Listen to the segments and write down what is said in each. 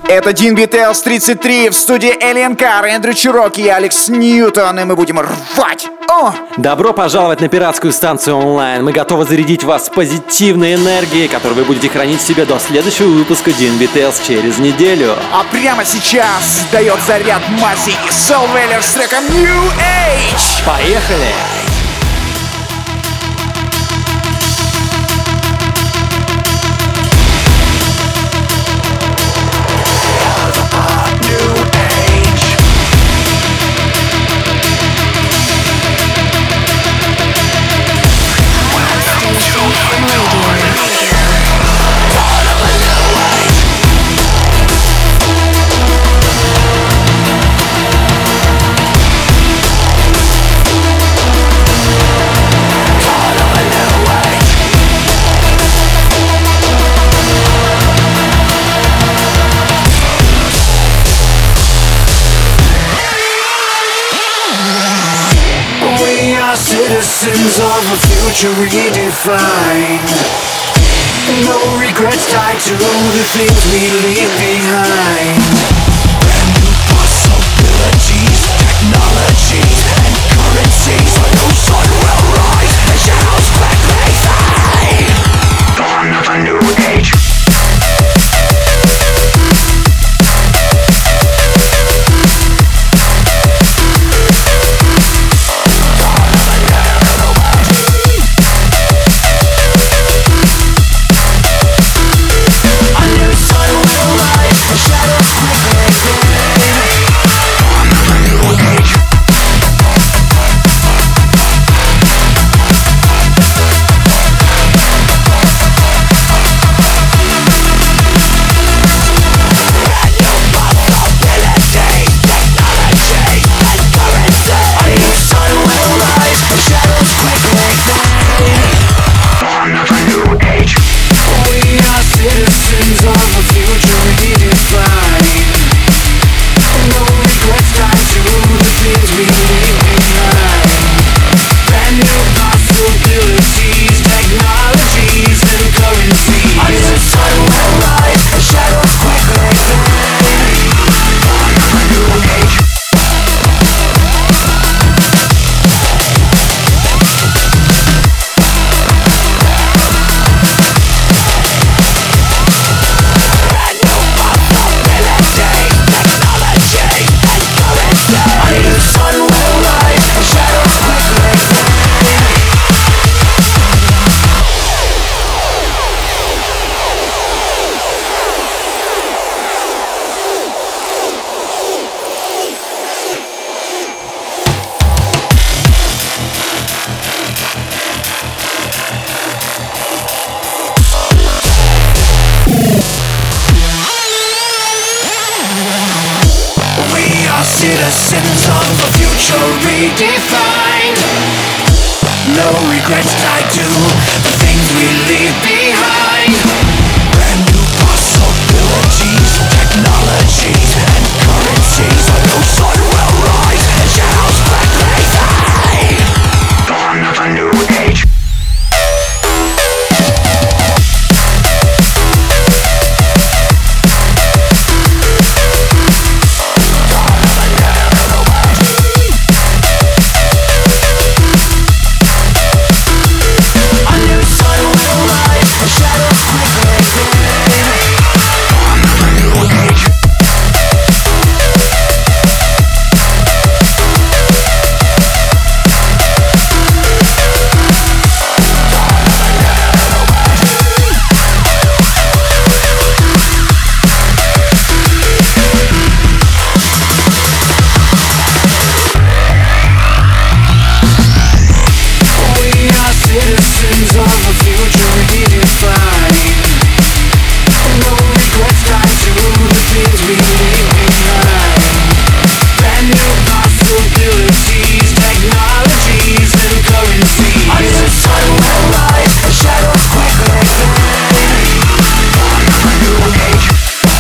Это Dean Beatles 33 в студии Alien Car, Эндрю Чироки и Алекс Ньютон, и мы будем рвать! О! Добро пожаловать на пиратскую станцию онлайн. Мы готовы зарядить вас позитивной энергией, которую вы будете хранить в себе до следующего выпуска Dean Beatles через неделю. А прямо сейчас дает заряд Маси и Soul Weller с треком New Age. Поехали! Citizens of a future redefined. No regrets tied to the things we leave behind. Brand new possibilities, technologies and currencies. A new sun will rise and shadows quickly fade. Dawn of a new age. Citizens of a future redefined. No regrets tied to the things we leave behind. Brand new possibilities, technologies and currencies. A new sun will rise and shadows quickly fade. Dawn of a new age. Shadow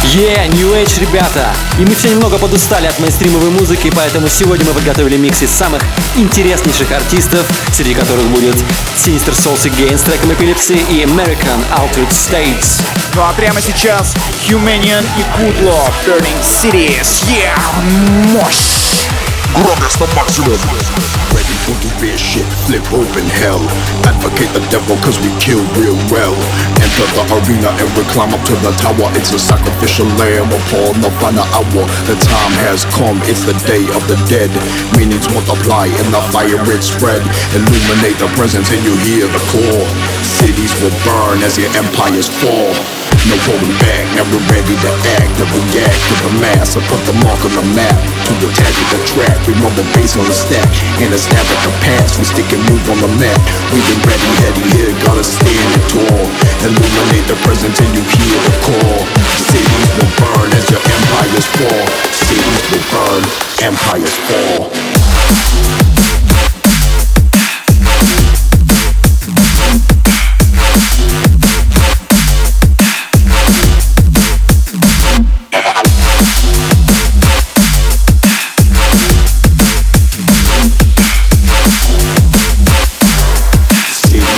New Age, ребята! И мы все немного подустали от мейнстримовой музыки, поэтому сегодня мы подготовили микс из самых интереснейших артистов, среди которых будет Sinister Souls Again с треком Epilepsy и American Altered States. Ну а прямо сейчас Humanian и Good Love Burning Cities. Мощь! Громкость на максимум. Ready for the big shit, flip open hell. Advocate the devil cause we kill real well. Enter the arena and we climb up to the tower. It's a sacrificial lamb upon the final hour. The time has come, it's the day of the dead. Meanings multiply and the fire it spread. Illuminate the presence and you hear the call. Cities will burn as your empires fall. No holding back, never ready to act. Never react to the mass, I put the mark on the map. To the tag of the track, we run the bass on the stack. And a stab at the past, we stick and move on the map. We've been ready, heady here, gotta stand it tall. Illuminate the present and you hear the call. Cities will burn as your empires fall. Cities will burn, empires fall.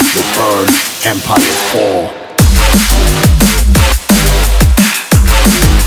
Empires fall.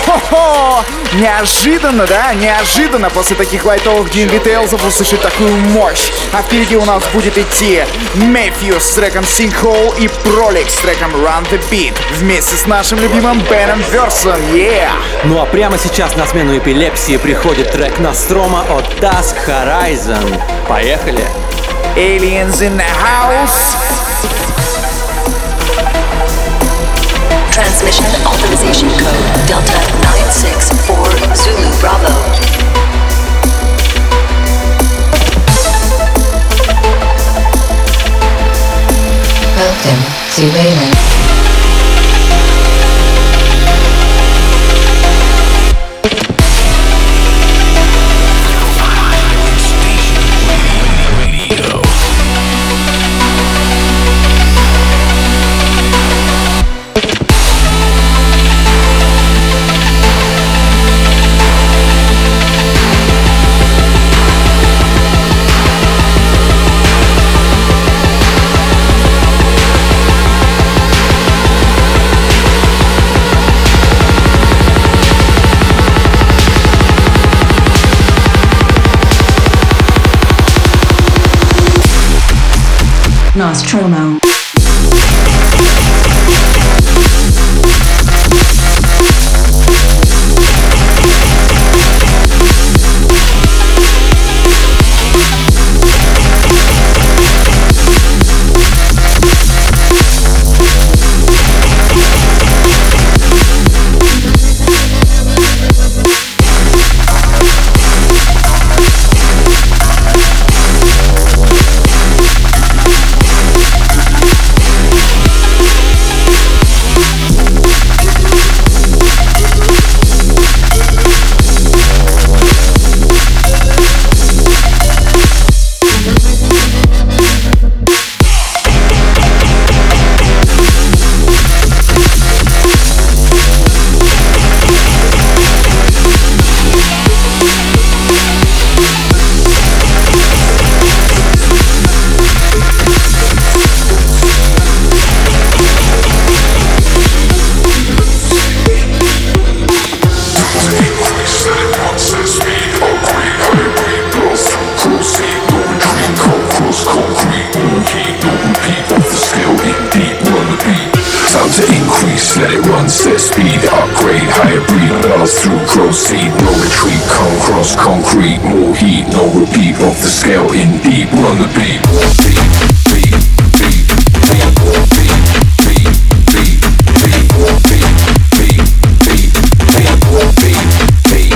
Хо-хо! Неожиданно, да? Неожиданно после таких лайтовых дин-детейлзов услышать такую мощь. А впереди у нас будет идти Мэфью с треком Sinkhole и Пролик с треком Run the Beat вместе с нашим любимым Беном Версом. Yeah! Ну а прямо сейчас на смену эпилепсии приходит трек Nostromo от Dusk Horizon. Поехали! Aliens in the house! Transmission authorization code Delta 964 Zulu Bravo. Welcome to Wayland. Nostromo. Let it run, set speed, upgrade, higher breed, blast through proceed, no retreat, come cross concrete, more heat, no repeat, off the scale, in deep, run the beat, beat, beat, beat, beat, beat, beat, beat, beat, beat, beat, beat,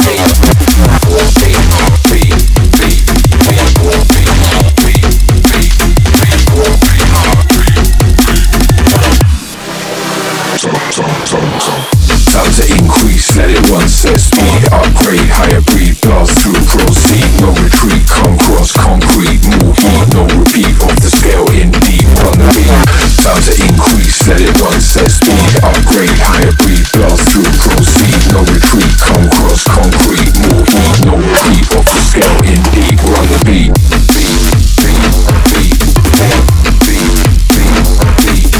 time to increase, let it run, set speed, upgrade, higher breed, blast through, proceed, no retreat, come cross concrete, more heat, no repeat, off the scale, in deep, run the beat. Time to increase, let it run, set speed, upgrade, higher breed, blast through, proceed, no retreat, come cross concrete, more heat, no repeat, off the scale, in deep, run the beat. Beat, beat, beat, beat, beat, beat, beat.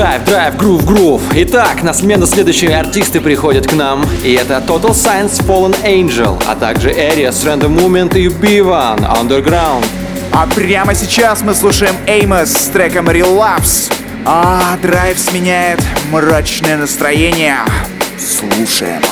Драйв, грув. Итак, на смену следующие артисты приходят к нам. И это Total Science, Fallen Angel, а также Aries, Random Movement и B1, Underground. А прямо сейчас мы слушаем Amos с треком Relapse. Драйв сменяет мрачное настроение. Слушаем.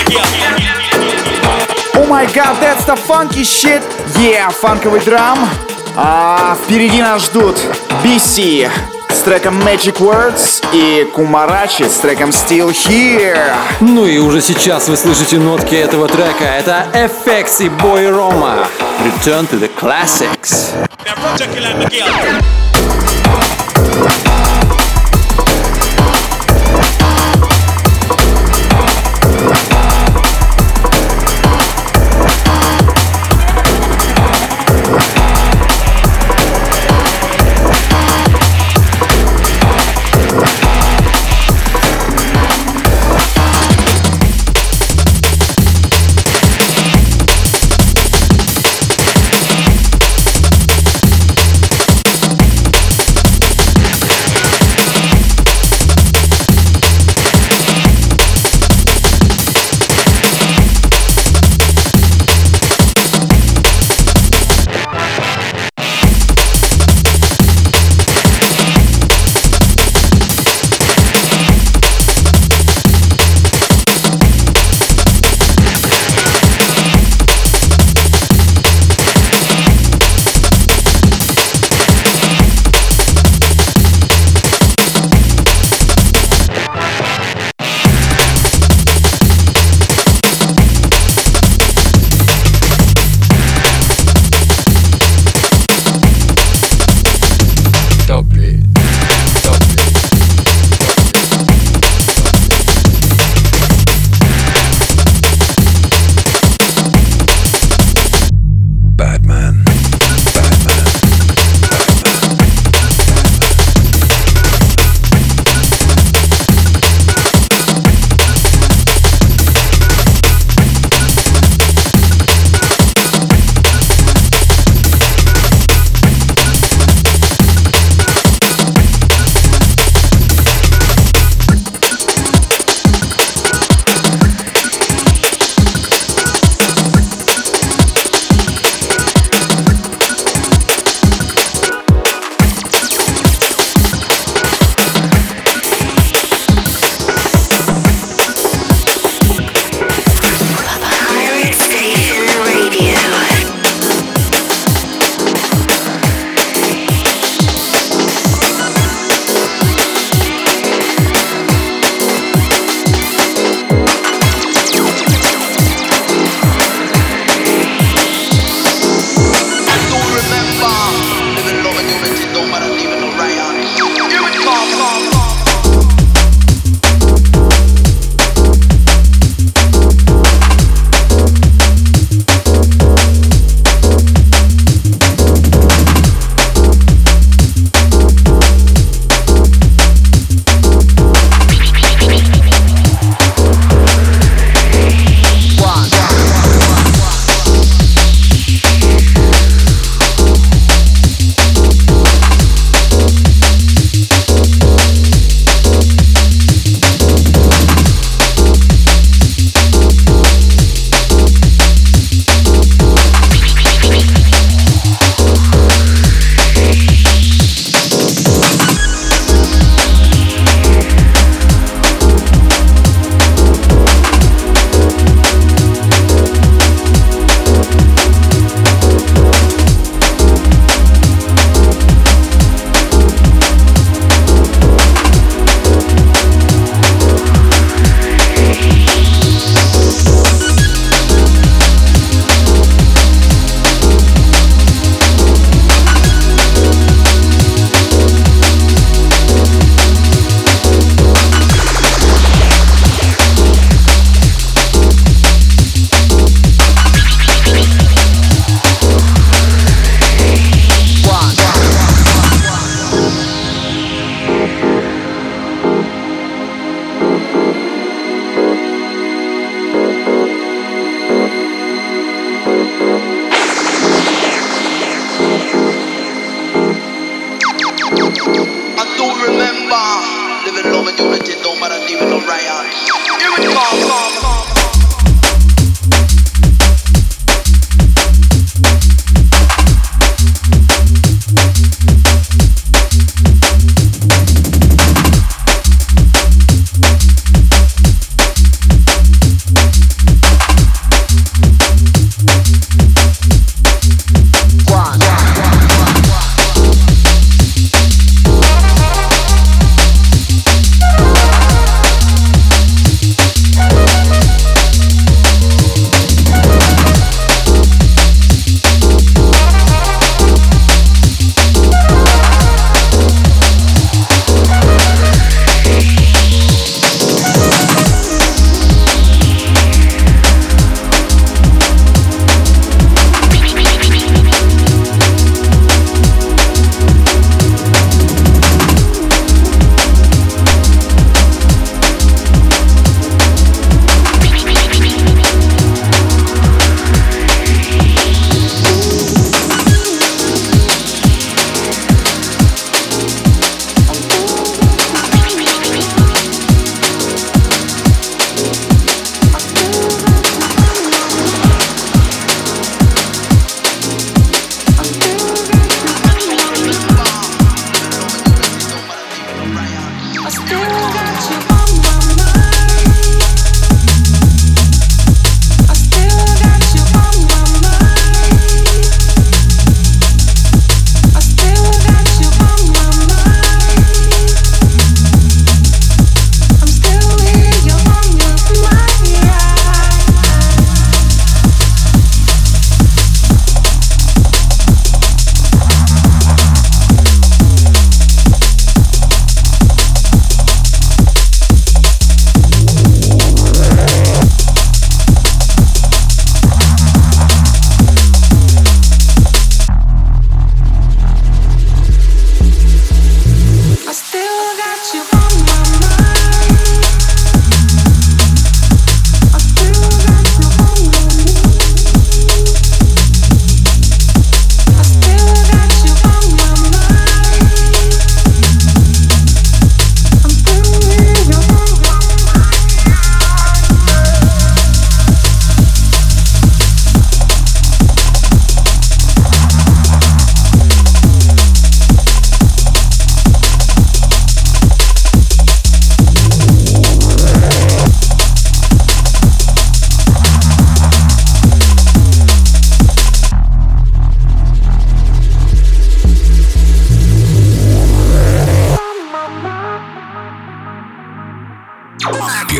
Oh my god, that's the funky shit! Yeah, фанковый драм. А впереди нас ждут BC с треком Magic Words и Кумарачи с треком Still Here. Ну и уже сейчас вы слышите нотки этого трека. Это FX и Boy Roma. Return to the Classics.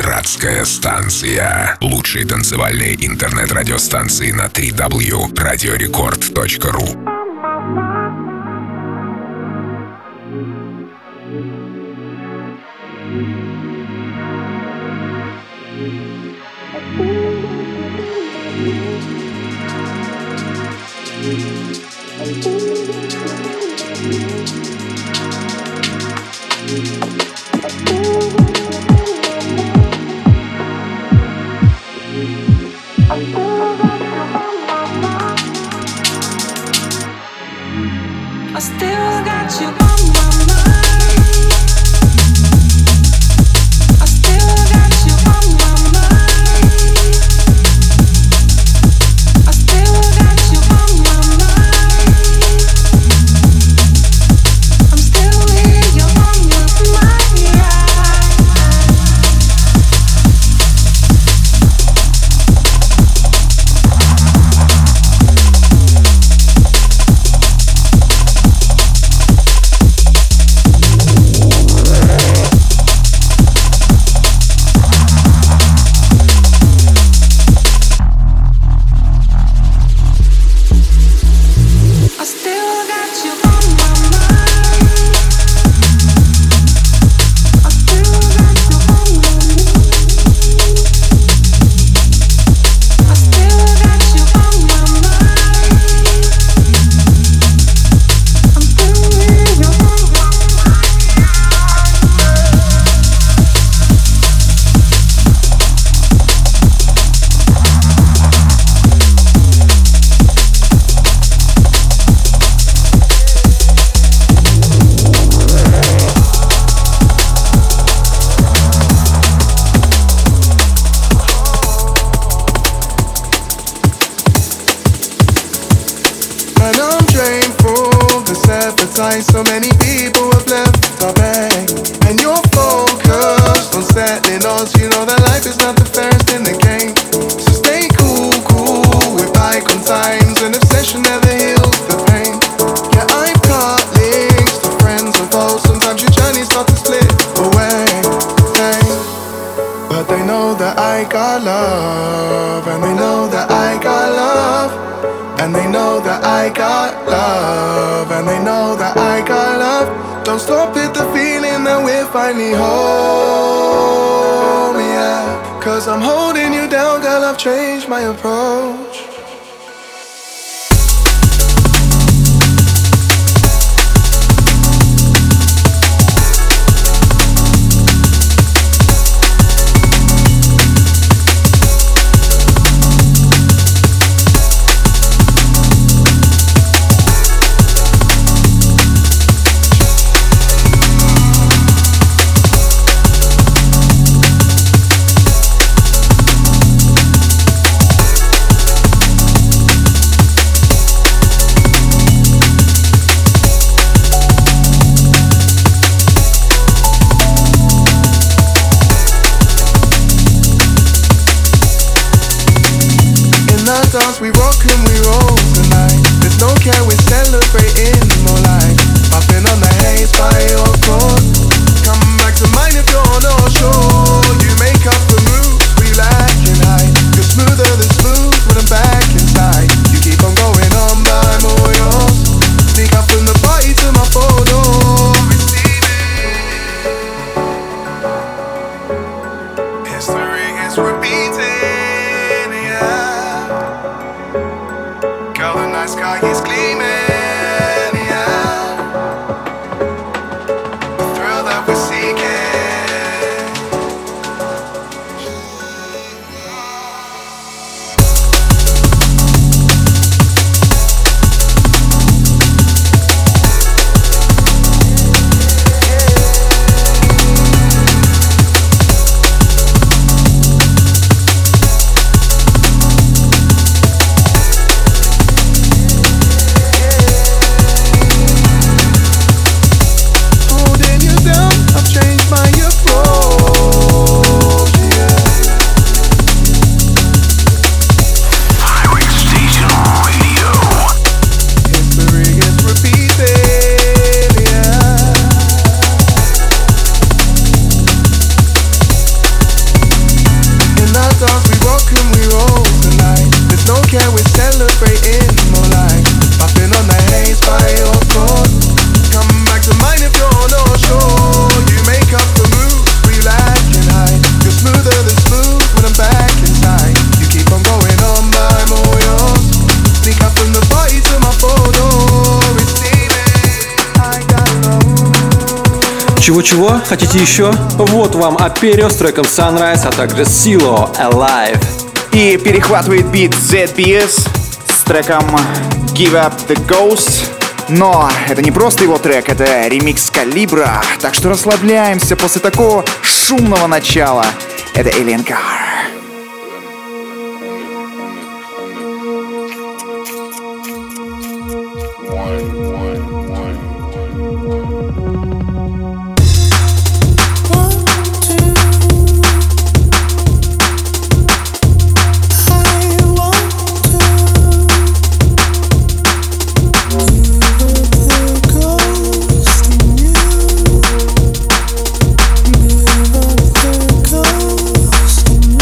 Пиратская станция. Лучшие танцевальные интернет-радиостанции на www.radiorecord.ru. I still got you on my mind. I still got you on my mind. I still got you on my mind. I'm still here, you're on your mind. So many people have left our bank, and you're focused on settling us. You know that life is not the fairest in the game. So stay cool, cool with bygone times. An obsession never heals the pain. Yeah, I've got links to friends and foes. Sometimes your journeys start to split away, hey. But they know that I got love, and they know that I got love. And they know that I got love, and they know that I got love. Don't stop at the feeling that we're finally home, yeah. Cause I'm holding you down, girl, I've changed my approach. We rock and we roll tonight. There's no care, we're celebrating more life. Popping on the haze by your court. Come back to mine if you're not sure. You make up the moves we lack in height. You're smoother than smooth when I'm back inside. You keep on going on, but I'm all yours. Sneak up from the party to my photo. History is repeating, yeah. The night sky is gleaming, yeah. The thrill that we're seeking. Чего-чего? Хотите еще? Вот вам Аперио с треком Sunrise, а также Silo Alive. И перехватывает бит ZBS с треком Give Up The Ghost. Но это не просто его трек, это ремикс Калибра. Так что расслабляемся после такого шумного начала. Это Alien Car. Ghost in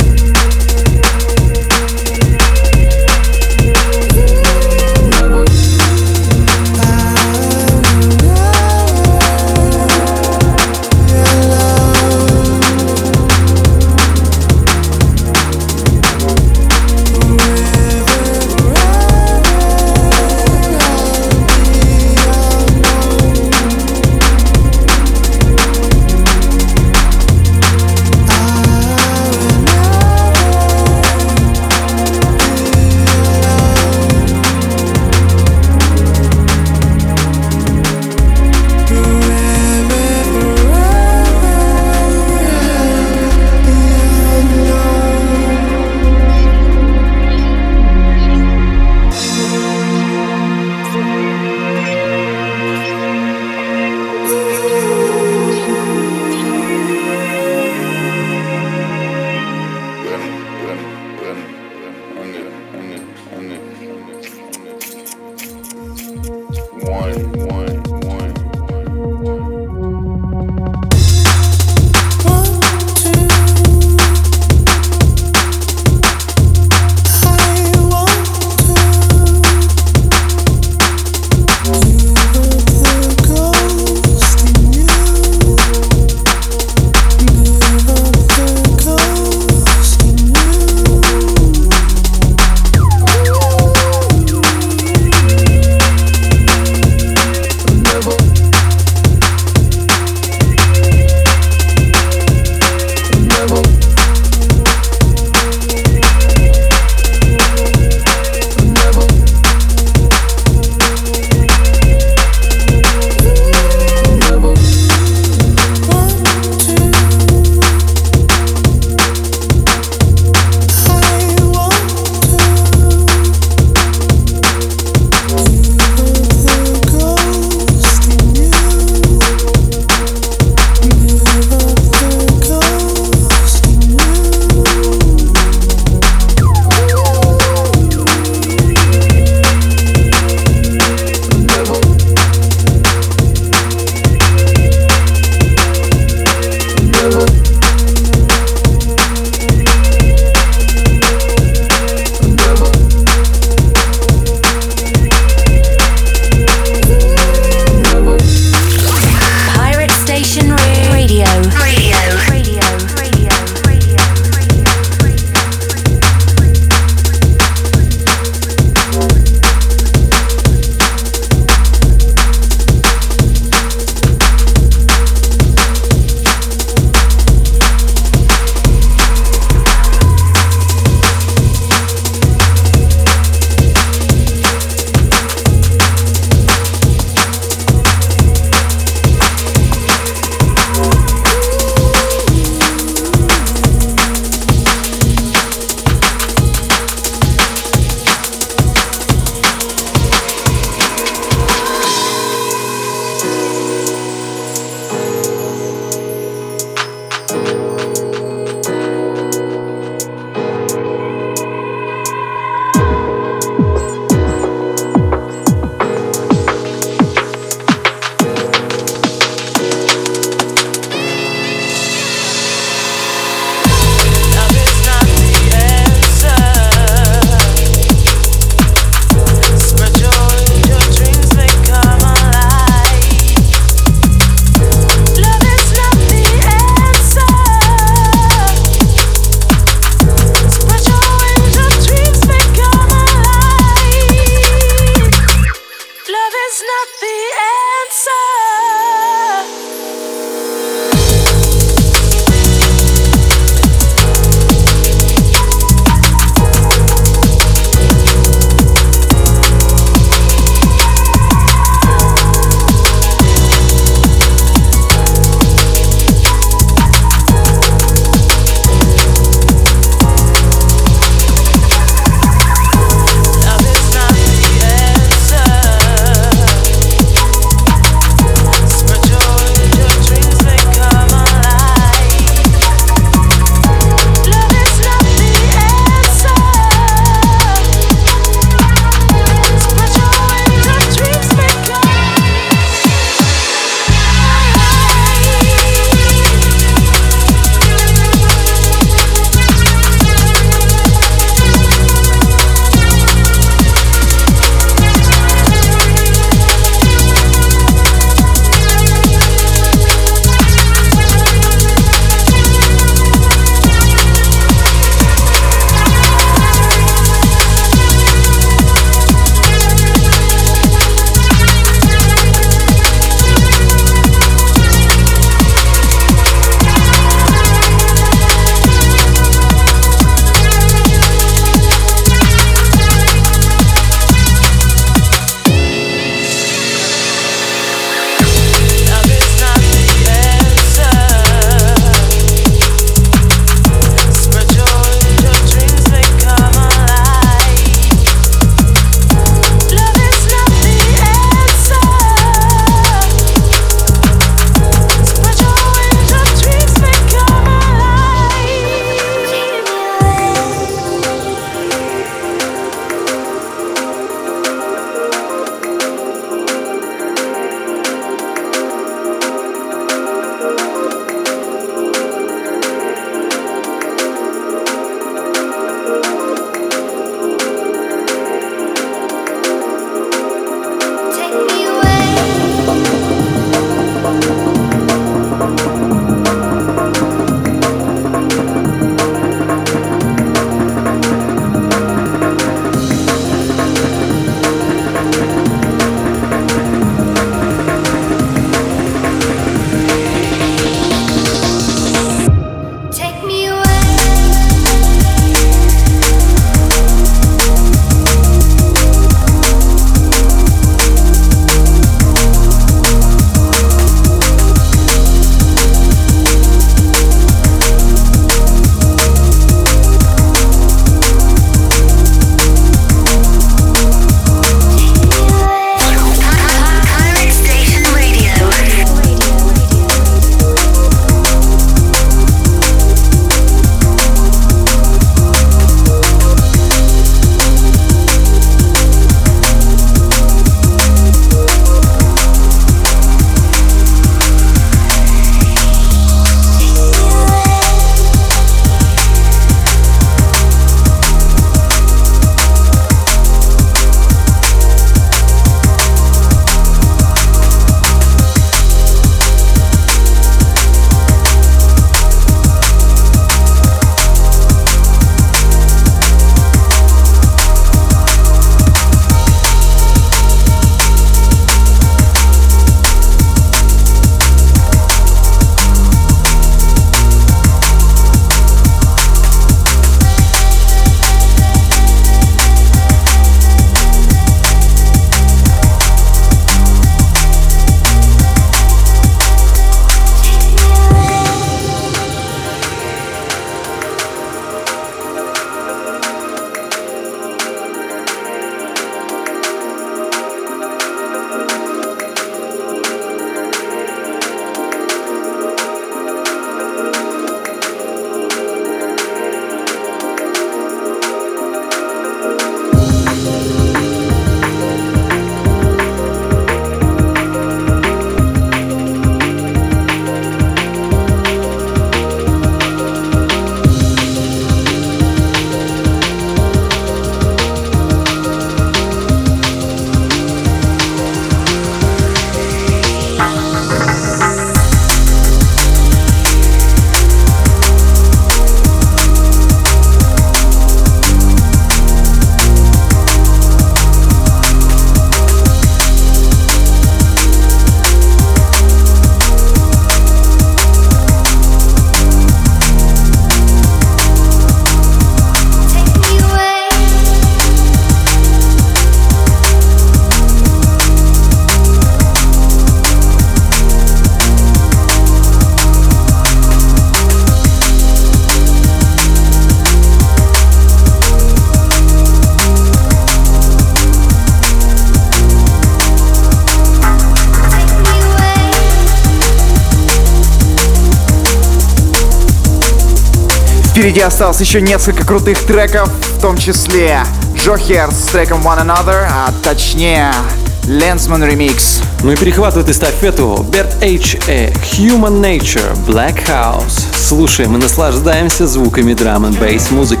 Впереди осталось еще несколько крутых треков, в том числе Джохер с треком One Another, а точнее Lensman Remix. Ну и перехватывает эстафету Bert H. Human Nature, Black House. Слушаем и наслаждаемся звуками драм-н-бейс музыки.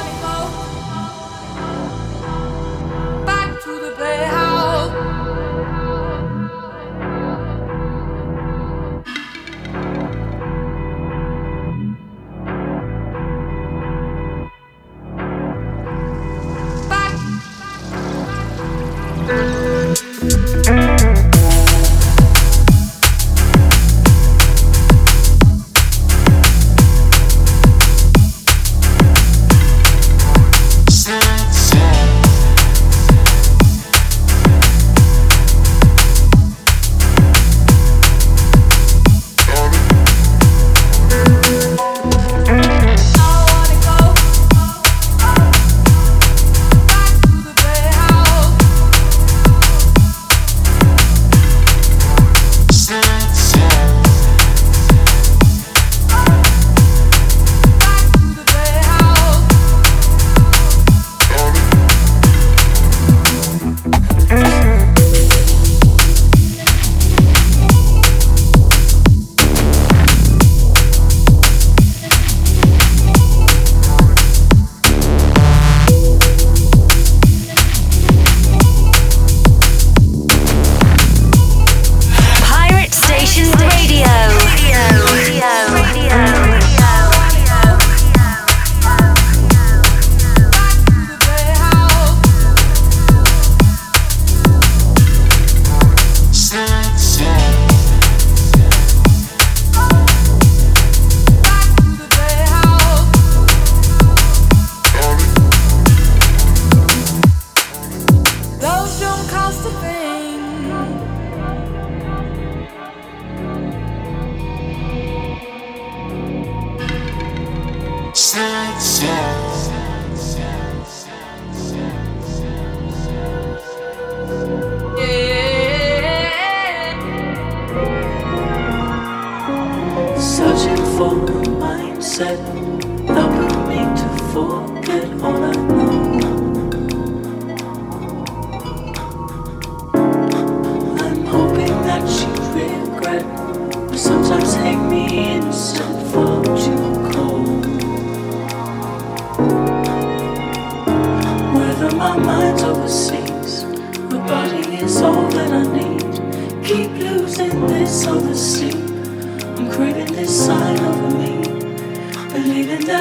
Searching for a mindset helping me to forget all I know. I'm hoping that you regret, but sometimes hate me instead for too cold. Whether my mind's overseas, my body is all that I need. Keep losing this over sleep. I'm craving this side of me, believing that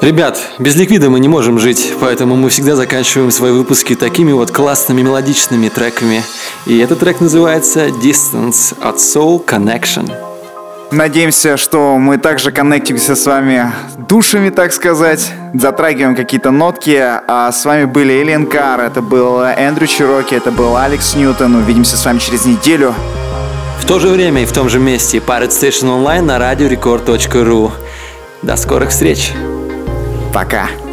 Ребят, без ликвида мы не можем жить, поэтому мы всегда заканчиваем свои выпуски такими вот классными мелодичными треками. И этот трек называется Distance от Soul Connection. Надеемся, что мы также коннектимся с вами душами, так сказать, затрагиваем какие-то нотки. А с вами были Alien Car, это был Эндрю Чироки, это был Алекс Ньютон. Увидимся с вами через неделю. В то же время и в том же месте Pirate Station Online на radiorecord.ru. До скорых встреч! Пока!